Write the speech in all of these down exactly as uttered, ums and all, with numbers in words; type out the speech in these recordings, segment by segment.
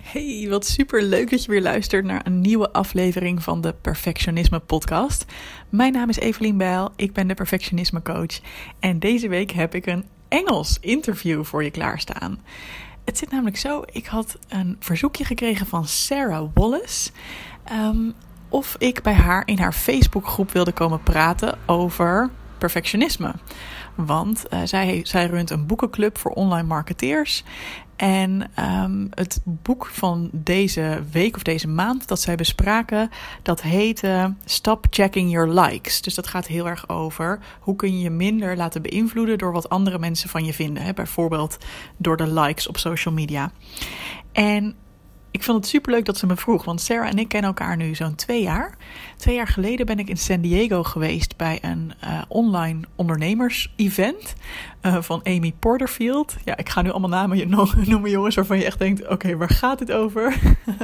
Hey, wat super leuk dat je weer luistert naar een nieuwe aflevering van de Perfectionisme podcast. Mijn naam is Evelien Bijl, ik ben de Perfectionisme coach en deze week heb ik een Engels interview voor je klaarstaan. Het zit namelijk zo, ik had een verzoekje gekregen van Sarah Wallace um, of ik bij haar in haar Facebookgroep wilde komen praten over perfectionisme. Want uh, zij, zij runt een boekenclub voor online marketeers. En um, het boek van deze week of deze maand dat zij bespraken, dat heette Stop Checking Your Likes. Dus dat gaat heel erg over hoe kun je je minder laten beïnvloeden door wat andere mensen van je vinden. Hè? Bijvoorbeeld door de likes op social media. En ik vond het superleuk dat ze me vroeg, want Sarah en ik kennen elkaar nu zo'n twee jaar. Twee jaar geleden ben ik in San Diego geweest bij een uh, online ondernemers-event uh, van Amy Porterfield. Ja, ik ga nu allemaal namen noemen, jongens, waarvan je echt denkt, oké, okay, waar gaat dit over?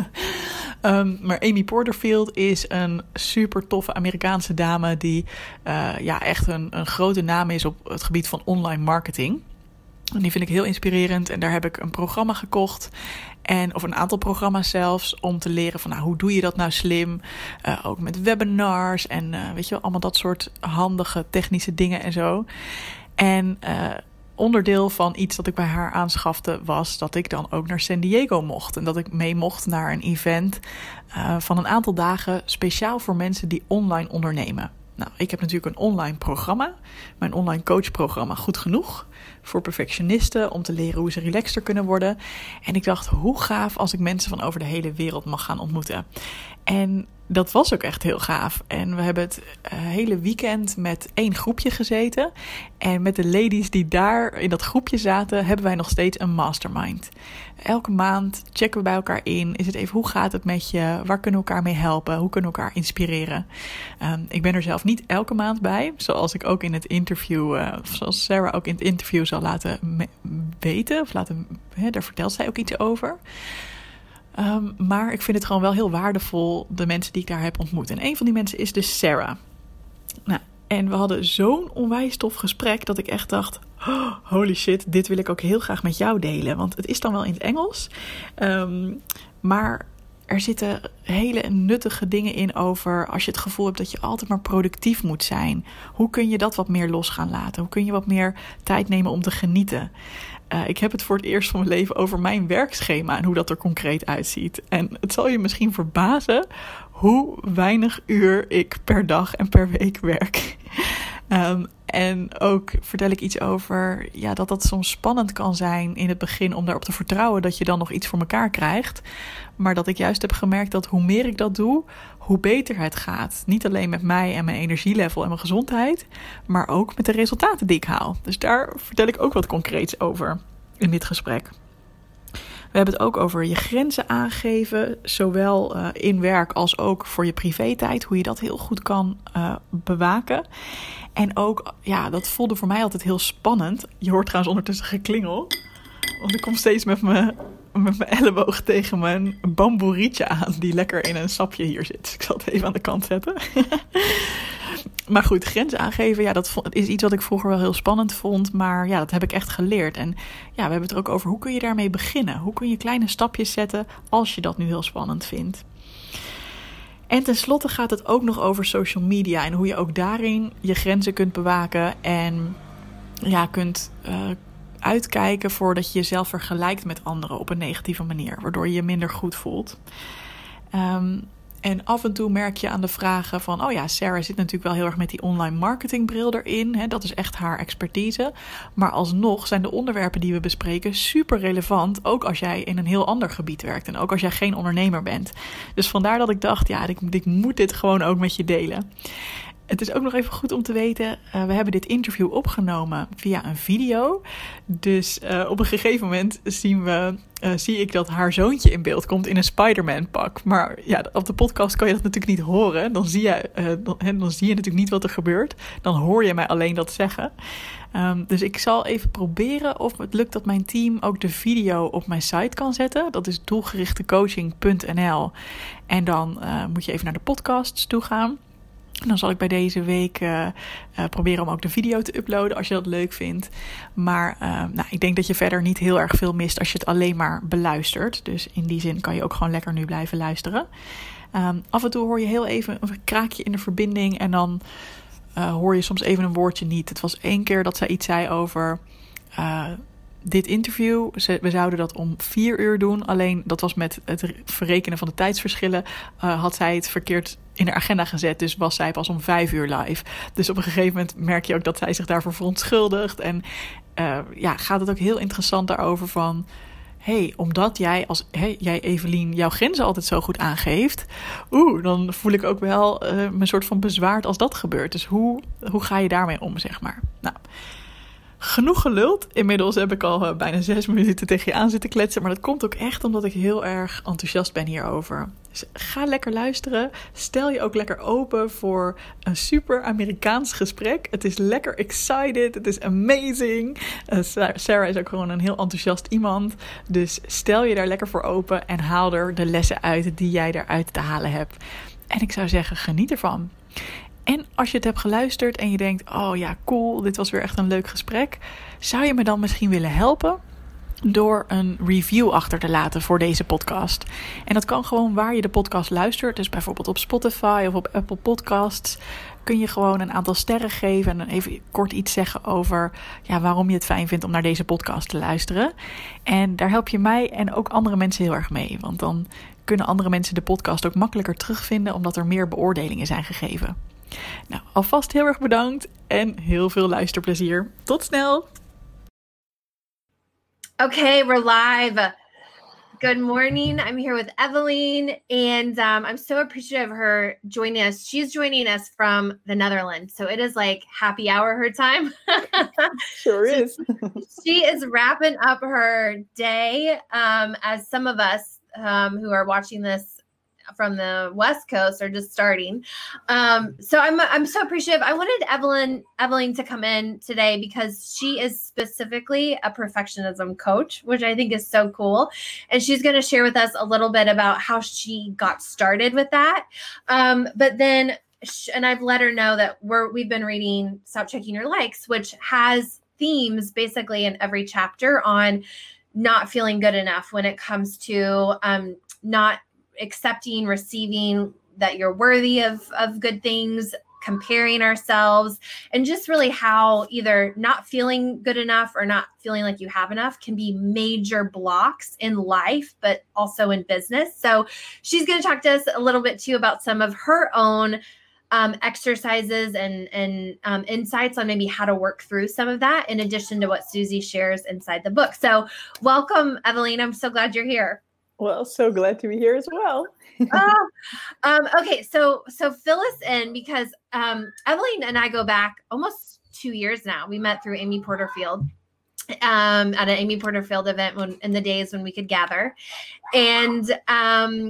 um, maar Amy Porterfield is een super toffe Amerikaanse dame die uh, ja, echt een, een grote naam is op het gebied van online marketing. En die vind ik heel inspirerend en daar heb ik een programma gekocht. En, of een aantal programma's zelfs, om te leren van nou, hoe doe je dat nou slim. Uh, ook met webinars en uh, weet je wel, allemaal dat soort handige technische dingen en zo. En uh, onderdeel van iets dat ik bij haar aanschafte was dat ik dan ook naar San Diego mocht. En dat ik mee mocht naar een event uh, van een aantal dagen speciaal voor mensen die online ondernemen. Nou, ik heb natuurlijk een online programma, mijn online coachprogramma Goed Genoeg, voor perfectionisten om te leren hoe ze relaxter kunnen worden. En ik dacht, hoe gaaf als ik mensen van over de hele wereld mag gaan ontmoeten. En dat was ook echt heel gaaf. En we hebben het hele weekend met één groepje gezeten. En met de ladies die daar in dat groepje zaten, hebben wij nog steeds een mastermind. Elke maand checken we bij elkaar in. Is het even, hoe gaat het met je? Waar kunnen we elkaar mee helpen? Hoe kunnen we elkaar inspireren? Um, ik ben er zelf niet elke maand bij. Zoals ik ook in het interview, uh, zoals Sarah ook in het interview zal laten me- weten. Of laten, hè, daar vertelt zij ook iets over. Um, maar ik vind het gewoon wel heel waardevol, de mensen die ik daar heb ontmoet. En een van die mensen is dus Sarah. Nou, en we hadden zo'n onwijs tof gesprek dat ik echt dacht, oh, holy shit, dit wil ik ook heel graag met jou delen. Want het is dan wel in het Engels. Um, maar er zitten hele nuttige dingen in over als je het gevoel hebt dat je altijd maar productief moet zijn. Hoe kun je dat wat meer los gaan laten? Hoe kun je wat meer tijd nemen om te genieten? Uh, ik heb het voor het eerst van mijn leven over mijn werkschema en hoe dat er concreet uitziet. En het zal je misschien verbazen hoe weinig uur ik per dag en per week werk. Um, en ook vertel ik iets over ja, dat dat soms spannend kan zijn in het begin om daarop te vertrouwen dat je dan nog iets voor elkaar krijgt. Maar dat ik juist heb gemerkt dat hoe meer ik dat doe, hoe beter het gaat. Niet alleen met mij en mijn energielevel en mijn gezondheid, maar ook met de resultaten die ik haal. Dus daar vertel ik ook wat concreets over in dit gesprek. We hebben het ook over je grenzen aangeven, zowel uh, in werk als ook voor je privé-tijd. Hoe je dat heel goed kan uh, bewaken. En ook, ja, dat voelde voor mij altijd heel spannend. Je hoort trouwens ondertussen geklingel. Want ik kom steeds met mijn, met mijn elleboog tegen mijn bamboe rietje aan, die lekker in een sapje hier zit. Dus ik zal het even aan de kant zetten. Maar goed, grenzen aangeven, ja, dat is iets wat ik vroeger wel heel spannend vond. Maar ja, dat heb ik echt geleerd. En ja, we hebben het er ook over, hoe kun je daarmee beginnen? Hoe kun je kleine stapjes zetten als je dat nu heel spannend vindt? En tenslotte gaat het ook nog over social media en hoe je ook daarin je grenzen kunt bewaken en ja, kunt uh, uitkijken voordat je jezelf vergelijkt met anderen op een negatieve manier, waardoor je je minder goed voelt. Um, En af en toe merk je aan de vragen van, oh ja, Sarah zit natuurlijk wel heel erg met die online marketingbril erin. Hè, dat is echt haar expertise. Maar alsnog zijn de onderwerpen die we bespreken super relevant, ook als jij in een heel ander gebied werkt en ook als jij geen ondernemer bent. Dus vandaar dat ik dacht, ja, ik, ik moet dit gewoon ook met je delen. Het is ook nog even goed om te weten, uh, we hebben dit interview opgenomen via een video. Dus uh, op een gegeven moment zien we, uh, zie ik dat haar zoontje in beeld komt in een Spider-Man pak. Maar ja, op de podcast kan je dat natuurlijk niet horen. Dan zie je, uh, dan, dan zie je natuurlijk niet wat er gebeurt. Dan hoor je mij alleen dat zeggen. Um, dus ik zal even proberen of het lukt dat mijn team ook de video op mijn site kan zetten. Dat is doelgerichtecoaching punt n l. En dan uh, moet je even naar de podcasts toe gaan. En dan zal ik bij deze week uh, uh, proberen om ook de video te uploaden als je dat leuk vindt. Maar uh, nou, ik denk dat je verder niet heel erg veel mist als je het alleen maar beluistert. Dus in die zin kan je ook gewoon lekker nu blijven luisteren. Um, af en toe hoor je heel even een kraakje in de verbinding en dan uh, hoor je soms even een woordje niet. Het was één keer dat zij iets zei over uh, dit interview. Ze, we zouden dat om vier uur doen. Alleen dat was met het verrekenen van de tijdsverschillen. Uh, had zij het verkeerd in de agenda gezet. Dus was zij pas om vijf uur live. Dus op een gegeven moment merk je ook dat zij zich daarvoor verontschuldigt. En uh, ja, gaat het ook heel interessant daarover van... hey, omdat jij als hey, jij Evelien jouw grenzen altijd zo goed aangeeft, oeh, dan voel ik ook wel uh, mijn soort van bezwaard als dat gebeurt. Dus hoe, hoe ga je daarmee om, zeg maar? Nou, genoeg geluld. Inmiddels heb ik al uh, bijna zes minuten tegen je aan zitten kletsen. Maar dat komt ook echt omdat ik heel erg enthousiast ben hierover. Dus ga lekker luisteren. Stel je ook lekker open voor een super Amerikaans gesprek. Het is lekker excited. Het is amazing. Uh, Sarah is ook gewoon een heel enthousiast iemand. Dus stel je daar lekker voor open en haal er de lessen uit die jij eruit te halen hebt. En ik zou zeggen, geniet ervan. En als je het hebt geluisterd en je denkt, oh ja, cool, dit was weer echt een leuk gesprek. Zou je me dan misschien willen helpen door een review achter te laten voor deze podcast? En dat kan gewoon waar je de podcast luistert. Dus bijvoorbeeld op Spotify of op Apple Podcasts kun je gewoon een aantal sterren geven en dan even kort iets zeggen over ja, waarom je het fijn vindt om naar deze podcast te luisteren. En daar help je mij en ook andere mensen heel erg mee. Want dan kunnen andere mensen de podcast ook makkelijker terugvinden omdat er meer beoordelingen zijn gegeven. Nou, alvast heel erg bedankt en heel veel luisterplezier. Tot snel! Okay, we're live. Good morning. I'm here with Evelien, and um, I'm so appreciative of her joining us. She's joining us from the Netherlands, so it is like happy hour her time. Sure is. She is wrapping up her day, um, as some of us um, who are watching this from the West Coast are just starting. Um, so I'm I'm so appreciative. I wanted Evelien Evelien to come in today because she is specifically a perfectionism coach, which I think is so cool. And she's going to share with us a little bit about how she got started with that. Um, but then, and I've let her know that we're we've been reading Stop Checking Your Likes, which has themes basically in every chapter on not feeling good enough when it comes to um, not accepting, receiving that you're worthy of, of good things, comparing ourselves, and just really how either not feeling good enough or not feeling like you have enough can be major blocks in life, but also in business. So she's going to talk to us a little bit too about some of her own um, exercises and, and um, insights on maybe how to work through some of that, in addition to what Susie shares inside the book. So welcome, Evelien. I'm so glad you're here. Well, so glad to be here as well. oh, um, okay, so so fill us in because um, Evelien and I go back almost two years now. We met through Amy Porterfield um, at an Amy Porterfield event when, in the days when we could gather. And um,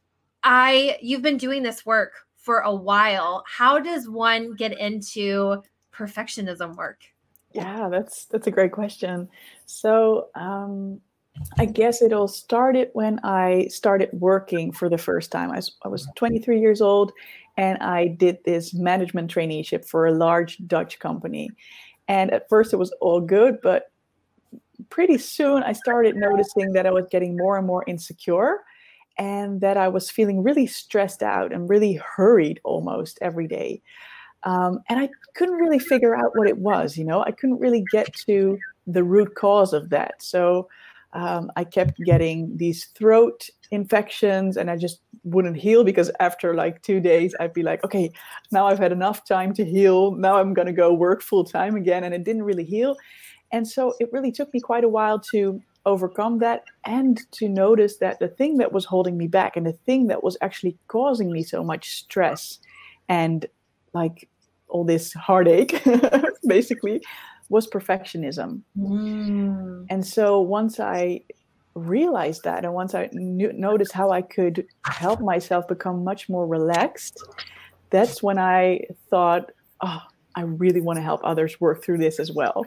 I, you've been doing this work for a while. How does one get into perfectionism work? Yeah, that's that's a great question. So. Um, I guess it all started when I started working for the first time. I was, I was twenty-three years old and I did this management traineeship for a large Dutch company. And at first it was all good, but pretty soon I started noticing that I was getting more and more insecure and that I was feeling really stressed out and really hurried almost every day. Um, and I couldn't really figure out what it was, you know, I couldn't really get to the root cause of that. So Um, I kept getting these throat infections and I just wouldn't heal because after like two days, I'd be like, okay, now I've had enough time to heal. Now I'm going to go work full time again. And it didn't really heal. And so it really took me quite a while to overcome that and to notice that the thing that was holding me back and the thing that was actually causing me so much stress and like all this heartache, basically, was perfectionism. Mm. And so once I realized that, and once I knew, noticed how I could help myself become much more relaxed, that's when I thought, oh, I really want to help others work through this as well.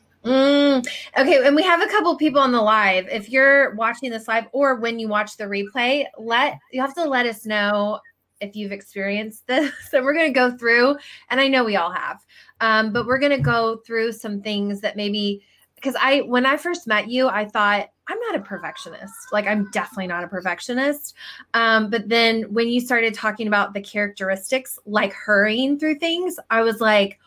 Mm. Okay, and we have a couple people on the live. If you're watching this live or when you watch the replay, let you have to let us know if you've experienced this. So we're going to go through, and I know we all have, um, but we're going to go through some things that maybe, because I, when I first met you, I thought, I'm not a perfectionist. Like, I'm definitely not a perfectionist. Um, but then when you started talking about the characteristics, like hurrying through things, I was like,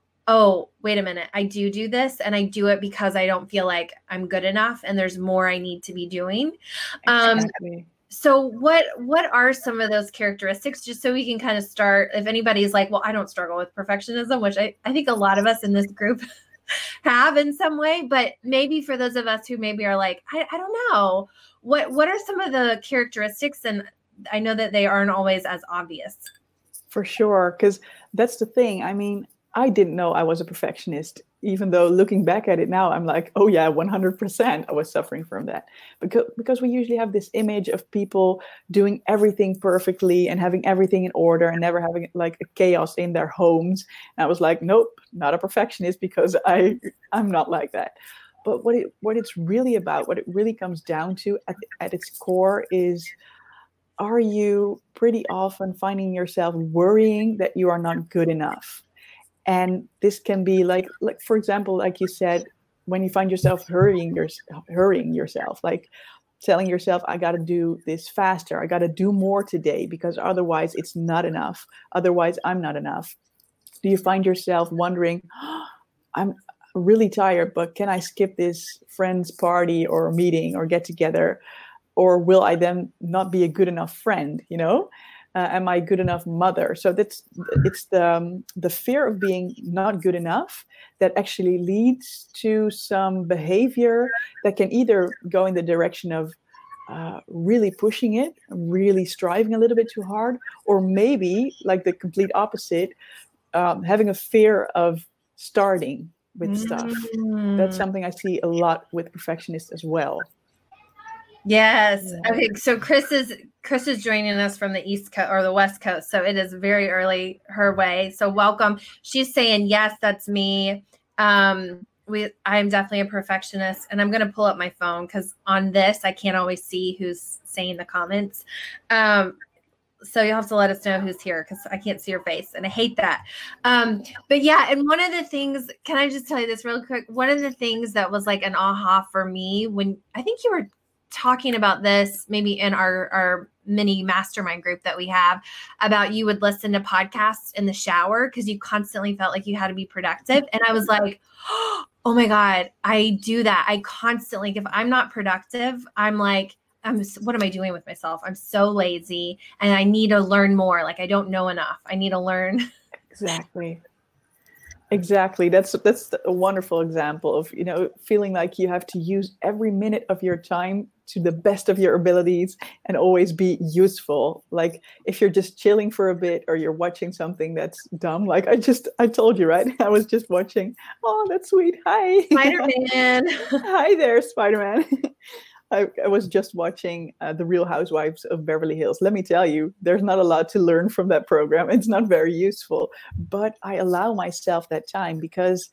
oh, wait a minute. I do do this, and I do it because I don't feel like I'm good enough and there's more I need to be doing. Um, Exactly. So what what are some of those characteristics, just so we can kind of start, if anybody's like, well, I don't struggle with perfectionism, which I, I think a lot of us in this group have in some way, but maybe for those of us who maybe are like, I, I don't know, what what are some of the characteristics? And I know that they aren't always as obvious. For sure, because that's the thing. I mean, I didn't know I was a perfectionist, even though looking back at it now, I'm like, oh yeah, one hundred percent I was suffering from that. Because, because we usually have this image of people doing everything perfectly and having everything in order and never having like a chaos in their homes. And I was like, nope, not a perfectionist, because I, I'm not like that. But what it what it's really about, what it really comes down to at, at its core is, are you pretty often finding yourself worrying that you are not good enough? And this can be like, like for example, like you said, when you find yourself hurrying, your, hurrying yourself, like telling yourself, I got to do this faster. I got to do more today because otherwise it's not enough. Otherwise, I'm not enough. Do you find yourself wondering, oh, I'm really tired, but can I skip this friend's party or meeting or get together? Or will I then not be a good enough friend, you know? Uh, am I a good enough mother? So that's it's the um, the fear of being not good enough that actually leads to some behavior that can either go in the direction of uh, really pushing it, really striving a little bit too hard, or maybe like the complete opposite, um, having a fear of starting with stuff. Mm. That's something I see a lot with perfectionists as well. Yes. Okay. So Chris is Chris is joining us from the East Coast or the West Coast. So it is very early her way. So welcome. She's saying, yes, that's me. Um, we I'm definitely a perfectionist. And I'm gonna pull up my phone because on this I can't always see who's saying the comments. Um, so you'll have to let us know who's here because I can't see your face and I hate that. Um, but yeah, and one of the things, can I just tell you this real quick? One of the things that was like an aha for me when I think you were talking about this maybe in our, our mini mastermind group that we have, about you would listen to podcasts in the shower because you constantly felt like you had to be productive. And I was like, oh my God, I do that. I constantly, if I'm not productive, I'm like, I'm, what am I doing with myself? I'm so lazy and I need to learn more. Like I don't know enough. I need to learn. Exactly. Exactly. That's that's a wonderful example of, you know, feeling like you have to use every minute of your time to the best of your abilities and always be useful. Like if you're just chilling for a bit or you're watching something that's dumb, like I just, I told you, right? I was just watching, oh, that's sweet. Hi. Spider-Man. Hi there, Spider-Man. I, I was just watching uh, The Real Housewives of Beverly Hills. Let me tell you, there's not a lot to learn from that program. It's not very useful, but I allow myself that time because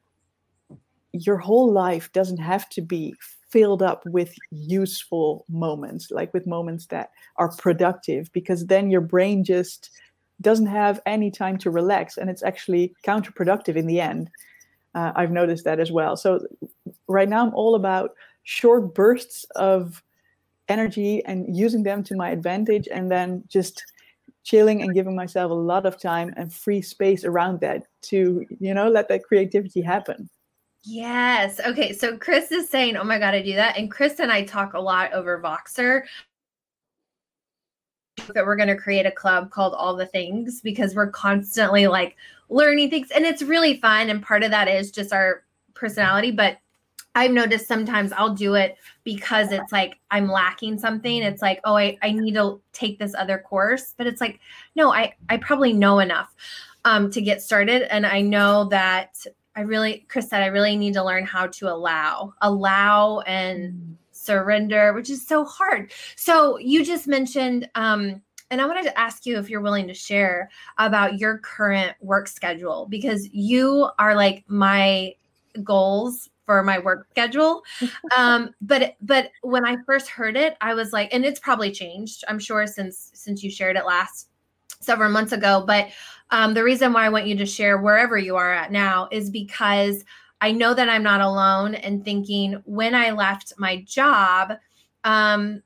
your whole life doesn't have to be filled up with useful moments, like with moments that are productive, because then your brain just doesn't have any time to relax and it's actually counterproductive in the end. Uh, I've noticed that as well. So right now I'm all about short bursts of energy and using them to my advantage, and then just chilling and giving myself a lot of time and free space around that to, you know, let that creativity happen. Yes. Okay. So Chris is saying, oh my God, I do that. And Chris and I talk a lot over Voxer that we're going to create a club called All the Things because we're constantly like learning things and it's really fun. And part of that is just our personality, but I've noticed sometimes I'll do it because it's like I'm lacking something. It's like, oh, I, I need to take this other course. But it's like, no, I, I probably know enough um, to get started. And I know that I really, Chris said, I really need to learn how to allow, allow and mm. surrender, which is so hard. So you just mentioned, um, and I wanted to ask you if you're willing to share about your current work schedule, because you are like my goals for my work schedule. Um, but, but when I first heard it, I was like, and it's probably changed, I'm sure, since, since you shared it last several months ago. But um, the reason why I want you to share wherever you are at now is because I know that I'm not alone in thinking when I left my job, um,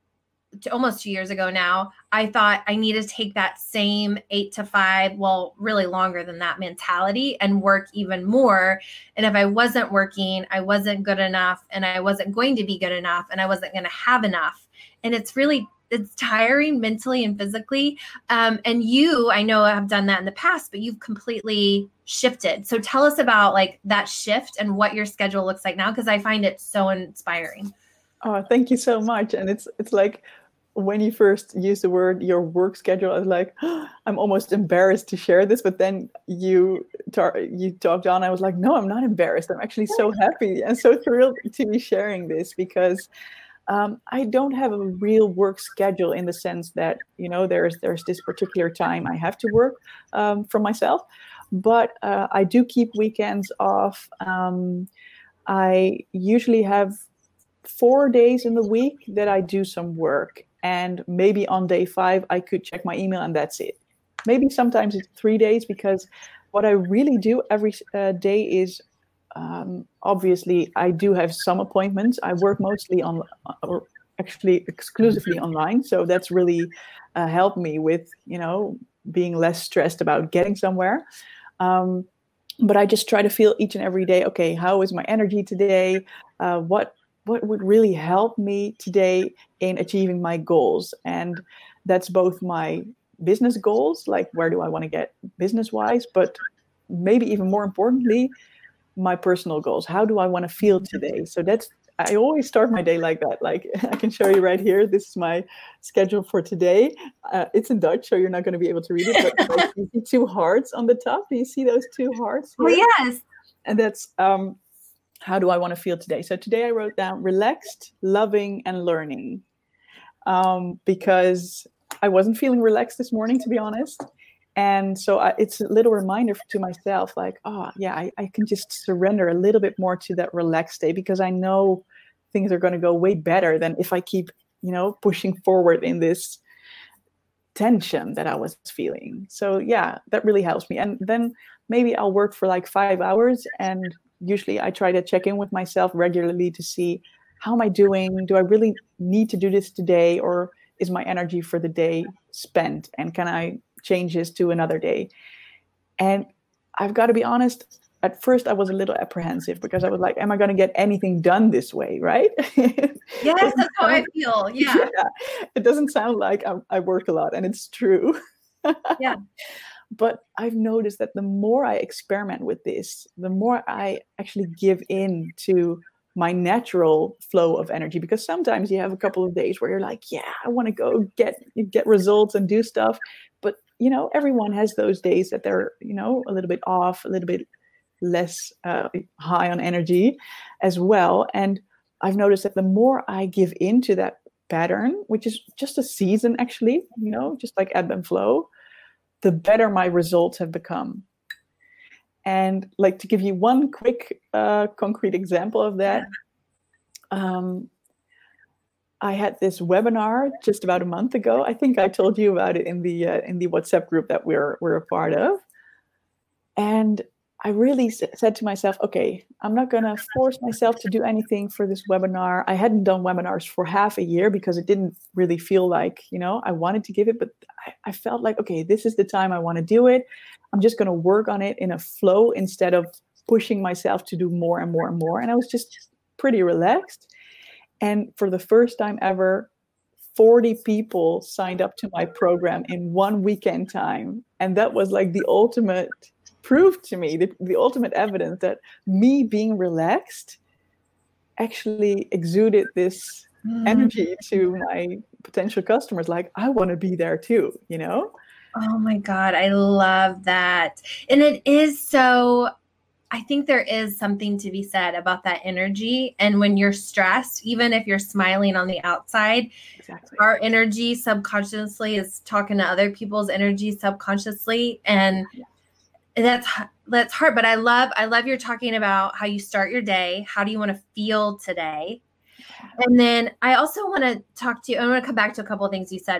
to almost two years ago now, I thought I need to take that same eight to five, well, really longer than that mentality and work even more. And if I wasn't working, I wasn't good enough and I wasn't going to be good enough and I wasn't going to have enough. And it's really, it's tiring mentally and physically. Um, and you, I know have done that in the past, but you've completely shifted. So tell us about like that shift and what your schedule looks like now, because I find it so inspiring. Oh, thank you so much. And it's it's like when you first used the word your work schedule, I was like, oh, I'm almost embarrassed to share this. But then you tar- you talked on. I was like, no, I'm not embarrassed. I'm actually so happy and so thrilled to be sharing this because um, I don't have a real work schedule in the sense that, you know, there's there's this particular time I have to work um, for myself. But uh, I do keep weekends off. Um, I usually have four days in the week that I do some work. And maybe on day five, I could check my email and that's it. Maybe sometimes it's three days because what I really do every uh, day is um, obviously I do have some appointments. I work mostly on, or actually exclusively online. So that's really uh, helped me with, you know, being less stressed about getting somewhere. Um, but I just try to feel each and every day, okay, how is my energy today? Uh, what what would really help me today in achieving my goals? And that's both my business goals, like where do I want to get business-wise, but maybe even more importantly, my personal goals. How do I want to feel today? So that's, I always start my day like that. Like I can show you right here. This is my schedule for today. Uh, it's in Dutch, so you're not going to be able to read it. But like, you see two hearts on the top. Do you see those two hearts here? Oh, yes. And that's um, how do I want to feel today? So today I wrote down relaxed, loving, and learning. Um, because I wasn't feeling relaxed this morning, to be honest. And so I, it's a little reminder to myself, like, oh, yeah, I, I can just surrender a little bit more to that relaxed state because I know things are going to go way better than if I keep, you know, pushing forward in this tension that I was feeling. So, yeah, that really helps me. And then maybe I'll work for like five hours. And usually I try to check in with myself regularly to see how am I doing? Do I really need to do this today? Or is my energy for the day spent? And can I change this to another day? And I've got to be honest, at first I was a little apprehensive because I was like, am I going to get anything done this way, right? Yes, that's how I feel. Yeah. yeah. It doesn't sound like I, I work a lot, and it's true. Yeah. But I've noticed that the more I experiment with this, the more I actually give in to my natural flow of energy, because sometimes you have a couple of days where you're like, yeah, I want to go get get results and do stuff. But, you know, everyone has those days that they're, you know, a little bit off, a little bit less uh, high on energy as well. And I've noticed that the more I give into that pattern, which is just a season, actually, you know, just like ebb and flow, the better my results have become. And like to give you one quick uh, concrete example of that, um, I had this webinar just about a month ago. I think I told you about it in the uh, in the WhatsApp group that we're we're a part of. And I really s- said to myself, okay, I'm not going to force myself to do anything for this webinar. I hadn't done webinars for half a year because it didn't really feel like, you know, I wanted to give it, but I, I felt like, okay, this is the time I want to do it. I'm just going to work on it in a flow instead of pushing myself to do more and more and more. And I was just pretty relaxed. And for the first time ever, forty people signed up to my program in one weekend time. And that was like the ultimate proof to me, the, the ultimate evidence that me being relaxed actually exuded this mm. energy to my potential customers. Like, I want to be there too, you know? Oh my God, I love that. And it is so, I think there is something to be said about that energy. And when you're stressed, even if you're smiling on the outside, exactly. Our energy subconsciously is talking to other people's energy subconsciously. And yeah. that's that's hard. But I love, I love you're talking about how you start your day. How do you want to feel today? And then I also want to talk to you, I want to come back to a couple of things you said, but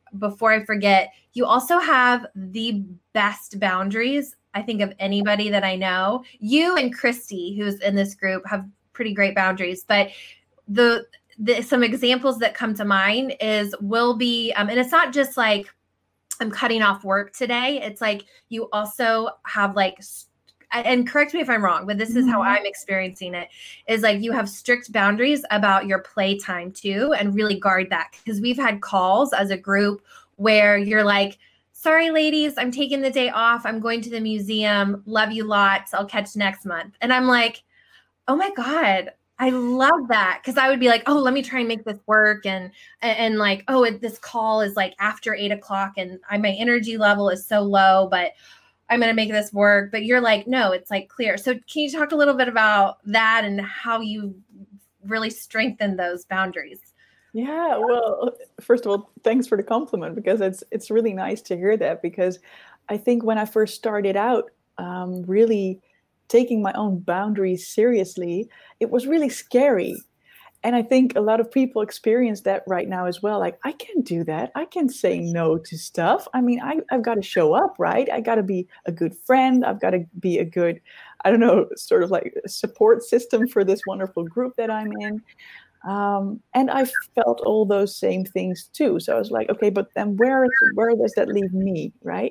before I forget, you also have the best boundaries, I think, of anybody that I know. You and Christy, who's in this group, have pretty great boundaries. But the, the some examples that come to mind is will be, um, and it's not just like I'm cutting off work today. It's like you also have like, and correct me if I'm wrong, but this is how I'm experiencing it, is like you have strict boundaries about your playtime too, and really guard that. Because we've had calls as a group where you're like, sorry, ladies, I'm taking the day off. I'm going to the museum. Love you lots. I'll catch next month. And I'm like, oh my God, I love that. Cause I would be like, oh, let me try and make this work. And, and, and like, oh, it, this call is like after eight o'clock and I, my energy level is so low, but I'm going to make this work. But you're like, no, it's like clear. So can you talk a little bit about that and how you really strengthen those boundaries? Yeah, well, first of all, thanks for the compliment, because it's it's really nice to hear that, because I think when I first started out, um, really taking my own boundaries seriously, it was really scary. And I think a lot of people experience that right now as well. Like, I can't do that. I can't say no to stuff. I mean, I, I've got to show up, right? I got to be a good friend. I've got to be a good, I don't know, sort of like a support system for this wonderful group that I'm in. Um, and I felt all those same things too. So I was like, okay, but then where where does that leave me, right?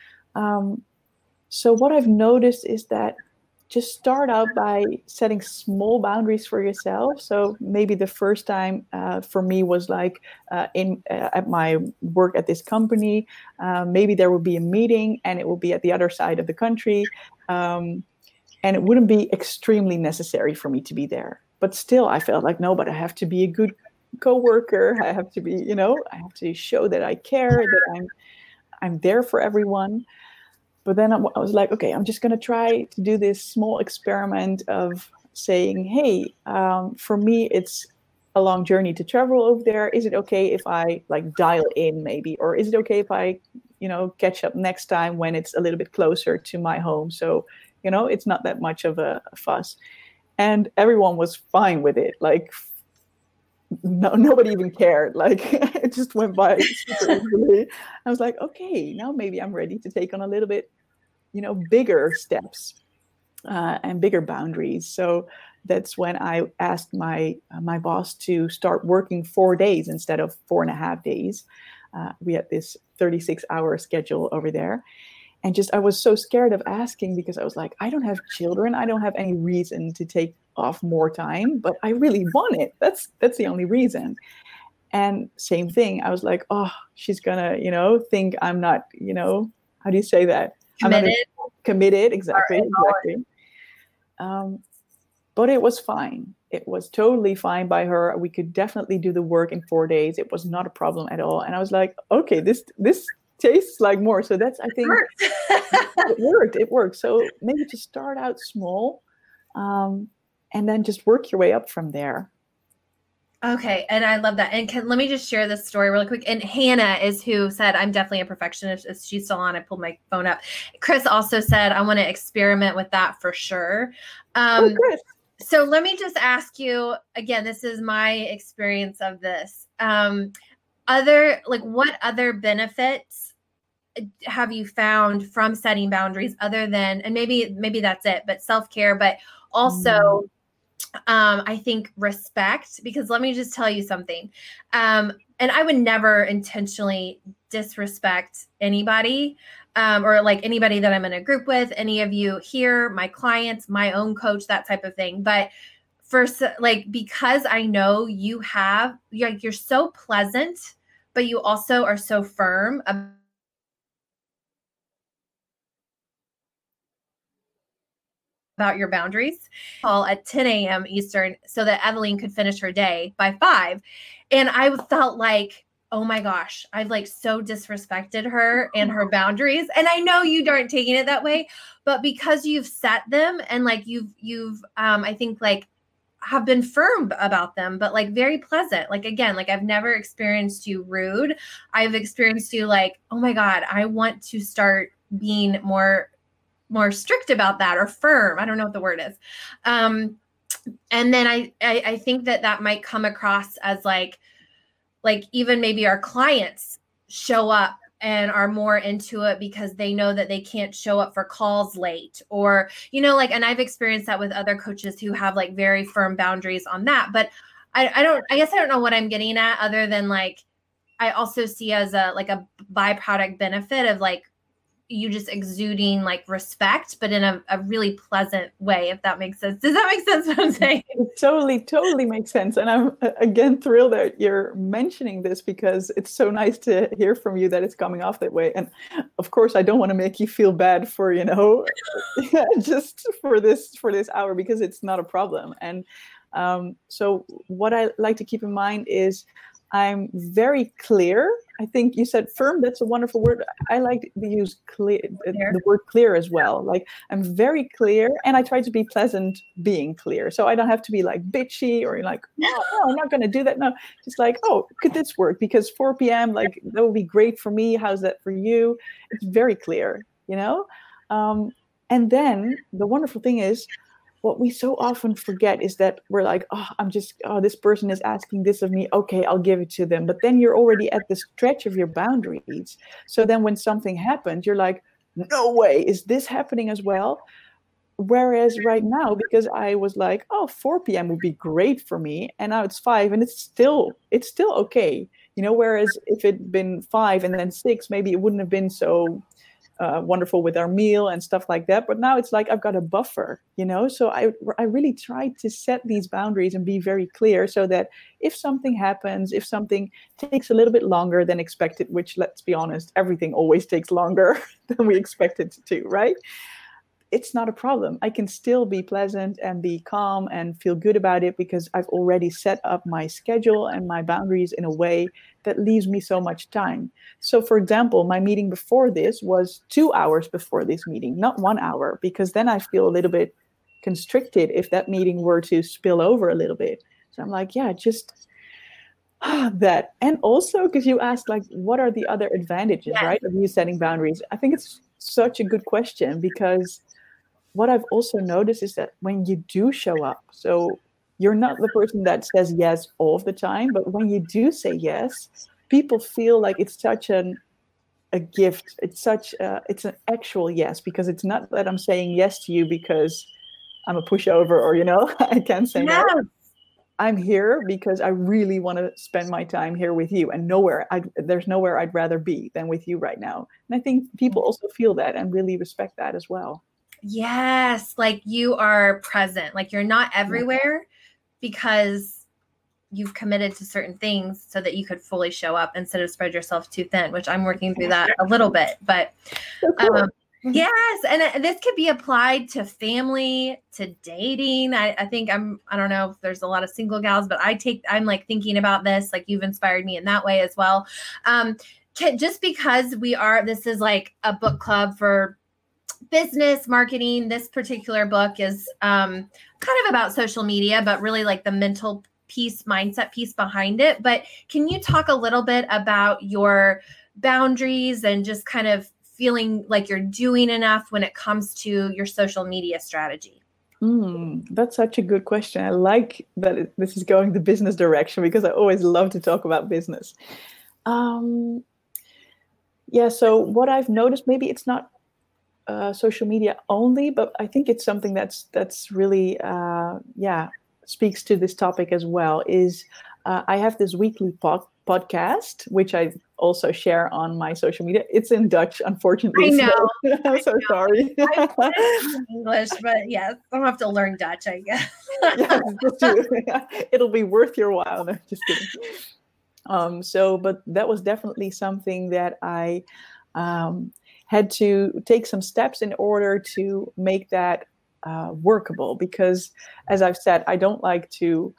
Um, so what I've noticed is that just start out by setting small boundaries for yourself. So maybe the first time uh, for me was like uh, in uh, at my work at this company. Uh, maybe there will be a meeting and it will be at the other side of the country. Um, and it wouldn't be extremely necessary for me to be there. But still, I felt like, no, but I have to be a good coworker. I have to be, you know, I have to show that I care, that I'm I'm there for everyone. But then I was like, okay, I'm just going to try to do this small experiment of saying, hey, um, for me, it's a long journey to travel over there. Is it okay if I like dial in maybe? Or is it okay if I, you know, catch up next time when it's a little bit closer to my home? So, you know, it's not that much of a, a fuss. And everyone was fine with it. Like, no, nobody even cared. Like, it just went by super easily. I was like, okay, now maybe I'm ready to take on a little bit, you know, bigger steps uh, and bigger boundaries. So that's when I asked my uh, my boss to start working four days instead of four and a half days. Uh, we had this thirty-six hour schedule over there. And just, I was so scared of asking because I was like, I don't have children. I don't have any reason to take off more time, but I really want it. That's, that's the only reason. And same thing. I was like, oh, she's gonna, you know, think I'm not, you know, how do you say that? Committed. I'm not committed. Exactly. Exactly. Um, but it was fine. It was totally fine by her. We could definitely do the work in four days. It was not a problem at all. And I was like, okay, this, this, tastes like more. So that's, I think, it worked. It worked. So maybe just start out small, um, and then just work your way up from there. Okay. And I love that. And can, let me just share this story really quick. And Hannah is who said, I'm definitely a perfectionist. If she's still on, I pulled my phone up. Chris also said, I want to experiment with that for sure. Um, oh, Chris. So let me just ask you again, this is my experience of this. Um, other, like what other benefits have you found from setting boundaries other than, and maybe, maybe that's it, but self-care, but also, mm. um, I think respect, because let me just tell you something. Um, and I would never intentionally disrespect anybody, um, or like anybody that I'm in a group with, any of you here, my clients, my own coach, that type of thing. But first, like, because I know you have, you're, you're so pleasant, but you also are so firm about about your boundaries. Call at ten a.m. Eastern so that Evelyn could finish her day by five. And I felt like, oh my gosh, I've like so disrespected her and her boundaries. And I know you aren't taking it that way, but because you've set them and like you've, you've, um, I think like have been firm about them, but like very pleasant. Like, again, like I've never experienced you rude. I've experienced you like, oh my God, I want to start being more more strict about that, or firm. I don't know what the word is. Um, and then I, I, I think that that might come across as like, like even maybe our clients show up and are more into it because they know that they can't show up for calls late, or, you know, like, and I've experienced that with other coaches who have like very firm boundaries on that. But I, I don't, I guess I don't know what I'm getting at, other than like, I also see as a, like a byproduct benefit of like, you just exuding like respect, but in a, a really pleasant way, if that makes sense. Does that make sense what I'm saying? It totally, totally makes sense. And I'm again thrilled that you're mentioning this, because it's so nice to hear from you that it's coming off that way. And of course, I don't want to make you feel bad for, you know, just for this, for this hour, because it's not a problem. And um, so what I like to keep in mind is I'm very clear. I think you said firm. That's a wonderful word. I like to use clear, clear, the word clear as well. Like, I'm very clear, and I try to be pleasant being clear. So I don't have to be like bitchy or like, oh, no, I'm not going to do that. No, just like, oh, could this work? Because four p.m., like, that would be great for me. How's that for you? It's very clear, you know? Um, and then the wonderful thing is, what we so often forget is that we're like, oh, I'm just, oh, this person is asking this of me. Okay, I'll give it to them. But then you're already at the stretch of your boundaries. So then when something happens, you're like, no way, is this happening as well? Whereas right now, because I was like, oh, four p.m. would be great for me. And now it's five, and it's still, it's still okay. You know, whereas if it'd been five and then six, maybe it wouldn't have been so Uh, wonderful with our meal and stuff like that. But now it's like I've got a buffer, you know. So I I really try to set these boundaries and be very clear, so that if something happens, if something takes a little bit longer than expected, which, let's be honest, everything always takes longer than we expect it to, right? It's not a problem. I can still be pleasant and be calm and feel good about it, because I've already set up my schedule and my boundaries in a way that leaves me so much time. So, for example, my meeting before this was two hours before this meeting, not one hour, because then I feel a little bit constricted if that meeting were to spill over a little bit. So I'm like, yeah, just that. And also, because you asked, like, what are the other advantages, yeah. right, of you setting boundaries? I think it's such a good question, because what I've also noticed is that when you do show up, so you're not the person that says yes all of the time, but when you do say yes, people feel like it's such an a gift. It's such a, it's an actual yes, because it's not that I'm saying yes to you because I'm a pushover, or, you know, I can't say no. no. I'm here because I really want to spend my time here with you, and nowhere I there's nowhere I'd rather be than with you right now. And I think people also feel that and really respect that as well. Yes, like you are present, like you're not everywhere, because you've committed to certain things so that you could fully show up instead of spread yourself too thin, which I'm working through that a little bit. But so cool. um, yes, and this could be applied to family, to dating. I, I think I'm, I don't know if there's a lot of single gals, but I take, I'm like thinking about this, like you've inspired me in that way as well. Um, just because we are, this is like a book club for business marketing. This particular book is um, kind of about social media, but really like the mental piece, mindset piece behind it. But can you talk a little bit about your boundaries and just kind of feeling like you're doing enough when it comes to your social media strategy? Mm, that's such a good question. I like that it, this is going the business direction, because I always love to talk about business. Um, yeah, so what I've noticed, maybe it's not Uh, social media only, but I think it's something that's that's really uh, yeah speaks to this topic as well. Is uh, I have this weekly pod- podcast which I also share on my social media. It's in Dutch, unfortunately. I know. So I'm so know. sorry. I put it in English, but yes, I'll have to learn Dutch, I guess. yeah, just to, it'll be worth your while. No, just kidding. Um, so, but that was definitely something that I. Um, had to take some steps in order to make that uh, workable, because, as I've said, I don't like to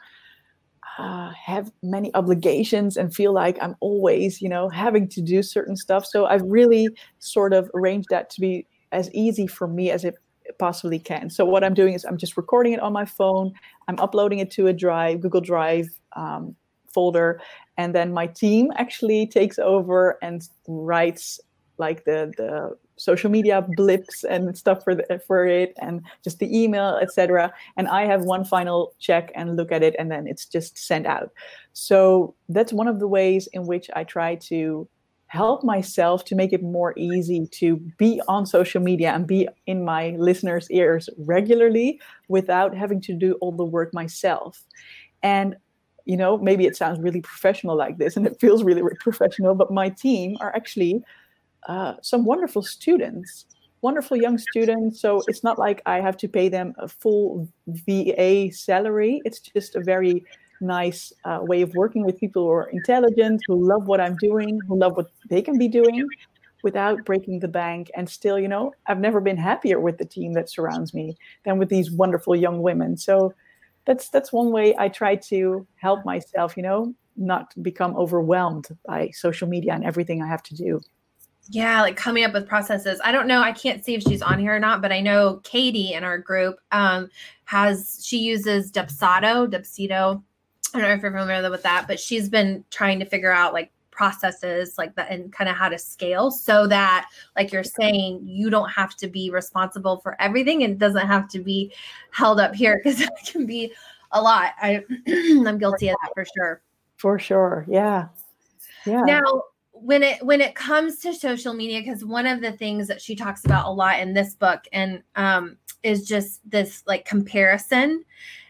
uh, have many obligations and feel like I'm always, you know, having to do certain stuff. So I've really sort of arranged that to be as easy for me as it possibly can. So what I'm doing is I'm just recording it on my phone. I'm uploading it to a Drive, Google Drive um, folder, and then my team actually takes over and writes like the, the social media blips and stuff for the, for it, and just the email, et cetera. And I have one final check and look at it, and then it's just sent out. So that's one of the ways in which I try to help myself to make it more easy to be on social media and be in my listeners' ears regularly without having to do all the work myself. And, you know, maybe it sounds really professional like this and it feels really, really professional, but my team are actually uh, some wonderful students, wonderful young students. So it's not like I have to pay them a full V A salary. It's just a very nice uh, way of working with people who are intelligent, who love what I'm doing, who love what they can be doing without breaking the bank. And still, you know, I've never been happier with the team that surrounds me than with these wonderful young women. So that's that's one way I try to help myself, you know, not become overwhelmed by social media and everything I have to do. Yeah, like coming up with processes. I don't know. I can't see if she's on here or not, but I know Katie in our group um, has, she uses Dubsado, Dubsado. I don't know if you're familiar with that, but she's been trying to figure out like processes like that and kind of how to scale so that, like you're saying, you don't have to be responsible for everything and it doesn't have to be held up here because it can be a lot. I, I'm guilty of that for sure. For sure. Yeah. Yeah. Now, when it when it comes to social media, because one of the things that she talks about a lot in this book and um, is just this like comparison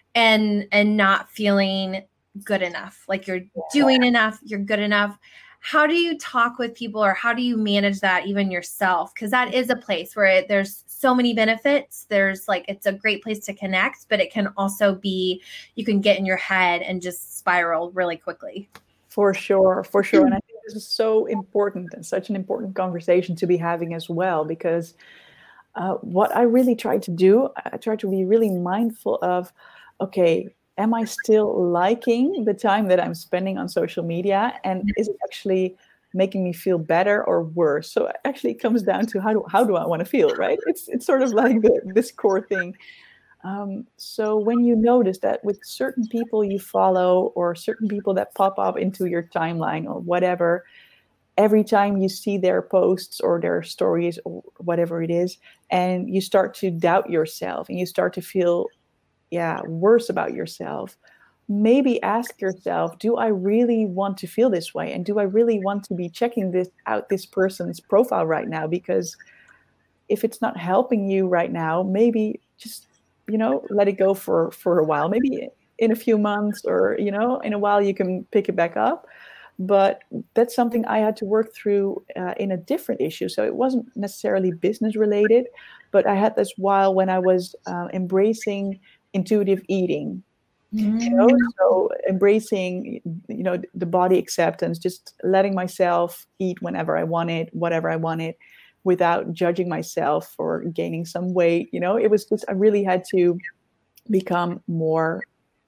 and and not feeling good enough, like you're doing enough, you're good enough. How do you talk with people or how do you manage that even yourself? Because that is a place where it, there's so many benefits. There's like, it's a great place to connect, but it can also be, you can get in your head and just spiral really quickly. For sure, for sure. And I think this is so important and such an important conversation to be having as well, because uh, what I really try to do, I try to be really mindful of, okay, am I still liking the time that I'm spending on social media? And is it actually making me feel better or worse? So actually it comes down to how do, how do I want to feel, right? It's, it's sort of like the, this core thing. Um, so when you notice that with certain people you follow or certain people that pop up into your timeline or whatever, every time you see their posts or their stories or whatever it is, and you start to doubt yourself and you start to feel, yeah, worse about yourself, maybe ask yourself, do I really want to feel this way? And do I really want to be checking this out, this person's profile right now? Because if it's not helping you right now, maybe just, you know, let it go for, for a while. Maybe in a few months or, you know, in a while you can pick it back up. But that's something I had to work through uh, in a different issue. So it wasn't necessarily business related, but I had this while when I was uh, embracing intuitive eating. Mm. You know, so embracing, you know, the body acceptance, just letting myself eat whenever I wanted, whatever I wanted, without judging myself for gaining some weight. You know, it was just, I really had to become more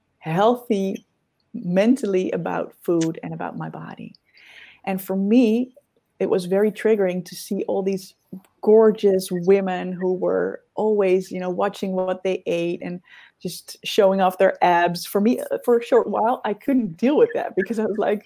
healthy mentally about food and about my body. And for me, it was very triggering to see all these gorgeous women who were always, you know, watching what they ate and just showing off their abs. For me, for a short while, I couldn't deal with that because I was like,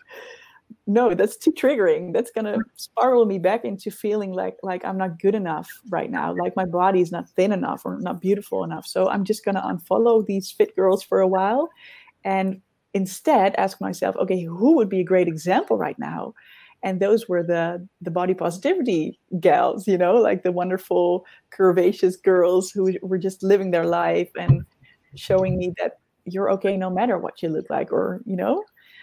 no, that's too triggering. That's going to spiral me back into feeling like, like I'm not good enough right now. Like my body is not thin enough or not beautiful enough. So I'm just going to unfollow these fit girls for a while and instead ask myself, okay, who would be a great example right now? And those were the the body positivity gals, you know, like the wonderful curvaceous girls who were just living their life and showing me that you're okay no matter what you look like, or, you know,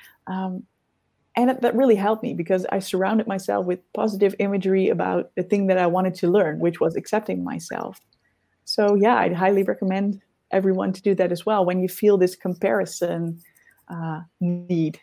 um, and that, that really helped me because I surrounded myself with positive imagery about the thing that I wanted to learn, which was accepting myself. So yeah, I'd highly recommend everyone to do that as well when you feel this comparison uh, need.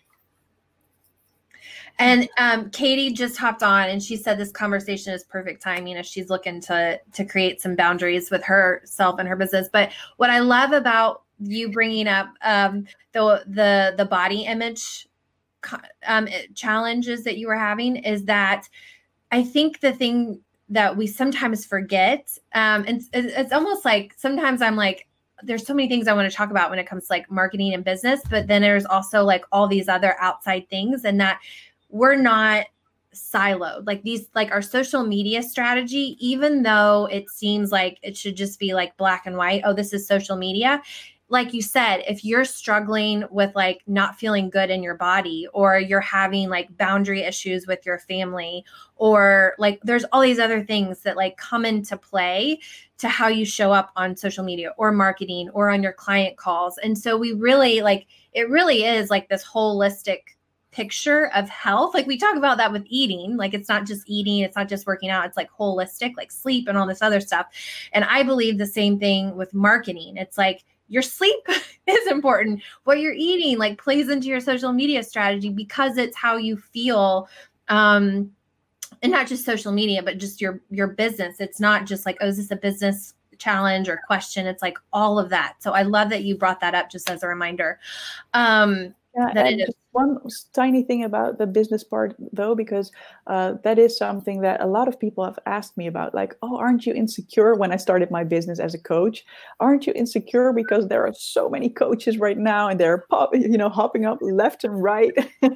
And um, Katie just hopped on and she said this conversation is perfect timing as she's looking to to create some boundaries with herself and her business. But what I love about you bringing up um, the the the body image um, challenges that you were having is that I think the thing that we sometimes forget, um, and it's, it's almost like sometimes I'm like, there's so many things I want to talk about when it comes to like marketing and business, but then there's also like all these other outside things, and that we're not siloed. Like these, like our social media strategy, even though it seems like it should just be like black and white, oh, this is social media, like you said, if you're struggling with like not feeling good in your body, or you're having like boundary issues with your family, or like there's all these other things that like come into play to how you show up on social media or marketing or on your client calls. And so we really like, it really is like this holistic picture of health. Like we talk about that with eating, like it's not just eating, it's not just working out, it's like holistic, like sleep and all this other stuff. And I believe the same thing with marketing. It's like, your sleep is important. What you're eating like plays into your social media strategy because it's how you feel. Um, and not just social media, but just your, your business. It's not just like, oh, is this a business challenge or question? It's like all of that. So I love that you brought that up just as a reminder. Um, Yeah, that and it is. just one tiny thing about the business part, though, because uh, that is something that a lot of people have asked me about. Like, oh, aren't you insecure when I started my business as a coach? Aren't you insecure because there are so many coaches right now and they're pop, you know, hopping up left and right?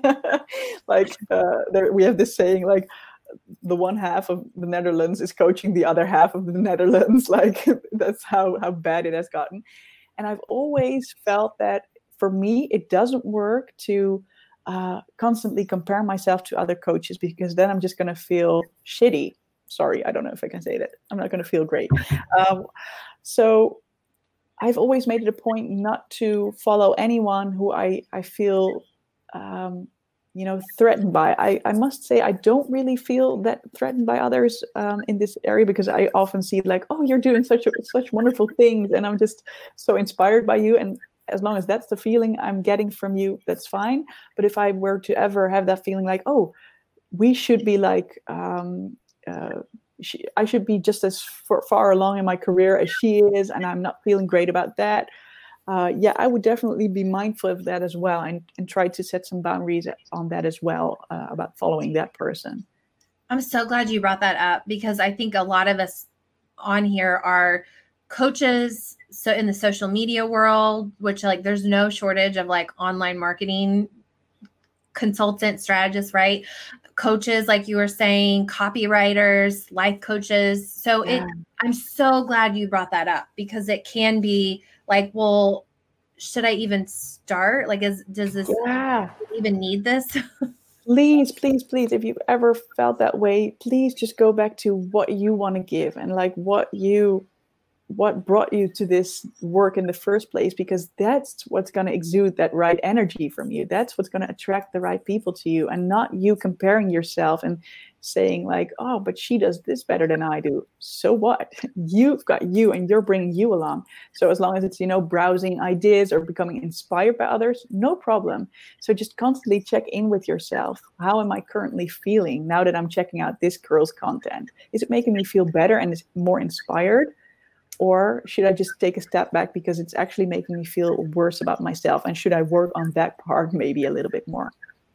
Like, uh, there, we have this saying, like, the one half of the Netherlands is coaching the other half of the Netherlands. Like, that's how how bad it has gotten. And I've always felt that. For me, it doesn't work to uh, constantly compare myself to other coaches, because then I'm just going to feel shitty. Sorry, I don't know if I can say that. I'm not going to feel great. Um, so I've always made it a point not to follow anyone who I, I feel, um, you know, threatened by. I, I must say I don't really feel that threatened by others um, in this area, because I often see like, oh, you're doing such a, such wonderful things, and I'm just so inspired by you. And as long as that's the feeling I'm getting from you, that's fine. But if I were to ever have that feeling like, oh, we should be like, um, uh, she, I should be just as far, far along in my career as she is, and I'm not feeling great about that. Uh, yeah, I would definitely be mindful of that as well, and, and try to set some boundaries on that as well, uh, about following that person. I'm so glad you brought that up, because I think a lot of us on here are coaches. So in the social media world, which like there's no shortage of like online marketing consultant strategists, right? Coaches, like you were saying, copywriters, life coaches. So yeah. it, I'm so glad you brought that up, because it can be like, well, should I even start? Like, is, does this yeah. even need this? Please, please, please, if you've ever felt that way, please just go back to what you want to give, and like what you what brought you to this work in the first place, because that's what's going to exude that right energy from you. That's what's going to attract the right people to you, and not you comparing yourself and saying like, oh, but she does this better than I do. So what? You've got you, and you're bringing you along. So as long as it's, you know, browsing ideas or becoming inspired by others, no problem. So just constantly check in with yourself. How am I currently feeling now that I'm checking out this girl's content? Is it making me feel better and is more inspired? Or should I just take a step back because it's actually making me feel worse about myself? And should I work on that part maybe a little bit more?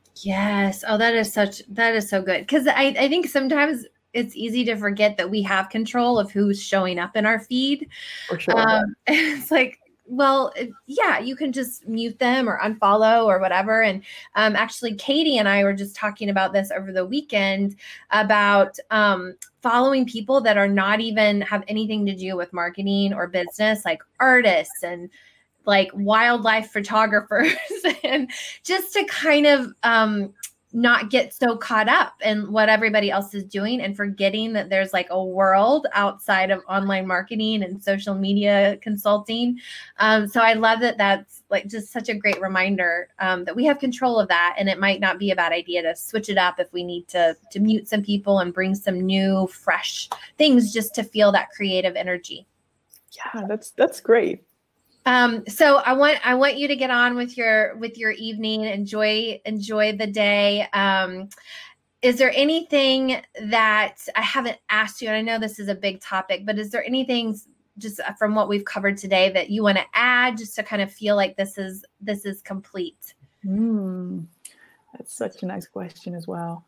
Yes. Oh, that is such, that is so good. Because I, I think sometimes it's easy to forget that we have control of who's showing up in our feed. For sure. Um, it's like, well, yeah, you can just mute them or unfollow or whatever. And um, actually, Katie and I were just talking about this over the weekend about um, following people that are not even have anything to do with marketing or business, like artists and like wildlife photographers, and just to kind of um, not get so caught up in what everybody else is doing and forgetting that there's like a world outside of online marketing and social media consulting. Um, so I love that that's like just such a great reminder um, that we have control of that. And it might not be a bad idea to switch it up if we need to, to mute some people and bring some new, fresh things just to feel that creative energy. Yeah, that's, that's great. Um, so I want I want you to get on with your with your evening. Enjoy enjoy the day. Um, is there anything that I haven't asked you? And I know this is a big topic, but is there anything just from what we've covered today that you want to add, just to kind of feel like this is this is complete? Mm, that's such a nice question as well.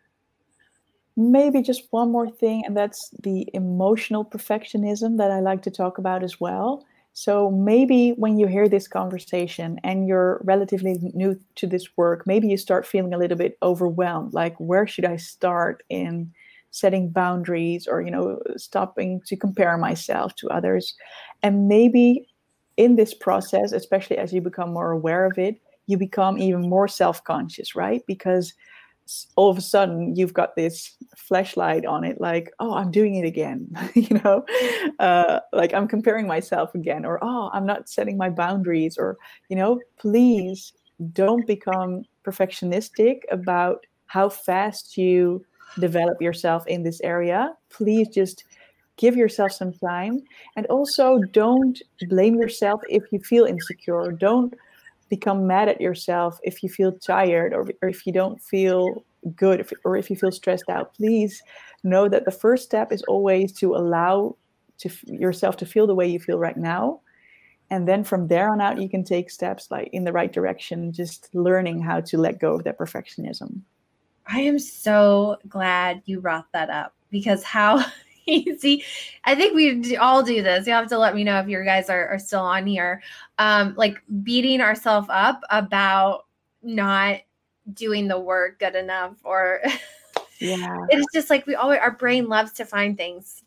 Maybe just one more thing, and that's the emotional perfectionism that I like to talk about as well. So maybe when you hear this conversation and you're relatively new to this work, maybe you start feeling a little bit overwhelmed. Like, where should I start in setting boundaries, or, you know, stopping to compare myself to others? And maybe in this process, especially as you become more aware of it, you become even more self-conscious, right? Because all of a sudden you've got this flashlight on it, like, oh, I'm doing it again, you know, uh, like I'm comparing myself again, or, oh, I'm not setting my boundaries, or, you know, please don't become perfectionistic about how fast you develop yourself in this area. Please just give yourself some time. And also don't blame yourself if you feel insecure. Don't become mad at yourself if you feel tired, or, or if you don't feel good, if, or if you feel stressed out. Please know that the first step is always to allow to f- yourself to feel the way you feel right now. And then from there on out, you can take steps like in the right direction, just learning how to let go of that perfectionism. I am so glad you brought that up, because how easy, I think we all do this. You have to let me know if your guys are, are still on here. Um, like beating ourselves up about not doing the work good enough, or yeah, it's just like we always, our brain loves to find things.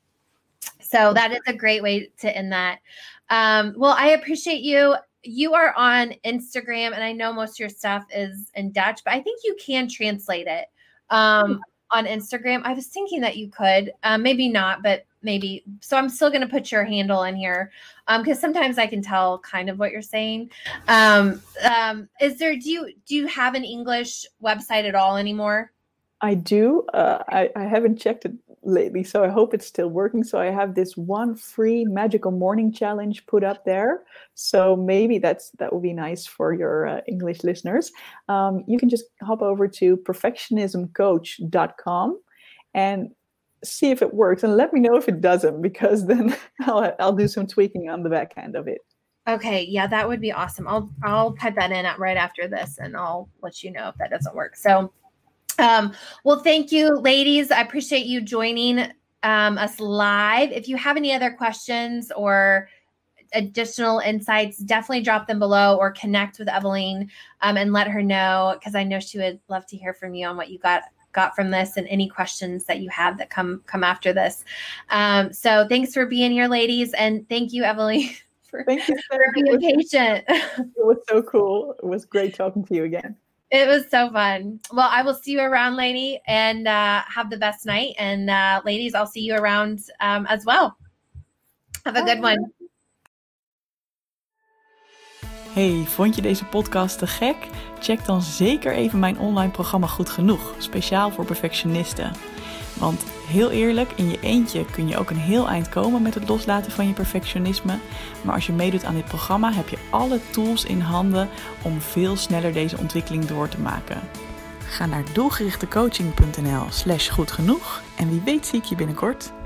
So that is a great way to end that. Um, well, I appreciate you. You are on Instagram, and I know most of your stuff is in Dutch, but I think you can translate it um, on Instagram. I was thinking that you could, um, maybe not, but maybe. So I'm still going to put your handle in here because um, sometimes I can tell kind of what you're saying. Um, um, is there? Do you do you have an English website at all anymore? I do. Uh, I, I haven't checked it lately, so I hope it's still working. So I have this one free magical morning challenge put up there. So maybe that's that would be nice for your uh, English listeners. Um, you can just hop over to perfectionism coach dot com and see if it works, and let me know if it doesn't, because then I'll I'll do some tweaking on the back end of it. Okay, yeah, that would be awesome. I'll I'll type that in right after this, and I'll let you know if that doesn't work. So. Um, well, thank you, ladies. I appreciate you joining um, us live. If you have any other questions or additional insights, definitely drop them below or connect with Evelyn um, and let her know, because I know she would love to hear from you on what you got got from this and any questions that you have that come come after this. Um, so thanks for being here, ladies. And thank you, Evelyn, for, thank you, for being patient. It was so cool. It was great talking to you again. It was so fun. Well, I will see you around, lady, and uh, have the best night. And uh, ladies, I'll see you around um, as well. Have a good one. Hey, vond je deze podcast te gek? Check dan zeker even mijn online programma Goed Genoeg, speciaal voor perfectionisten. Want heel eerlijk, in je eentje kun je ook een heel eind komen met het loslaten van je perfectionisme. Maar als je meedoet aan dit programma, heb je alle tools in handen om veel sneller deze ontwikkeling door te maken. Ga naar doelgerichtecoaching punt n l slash goed genoeg en wie weet zie ik je binnenkort.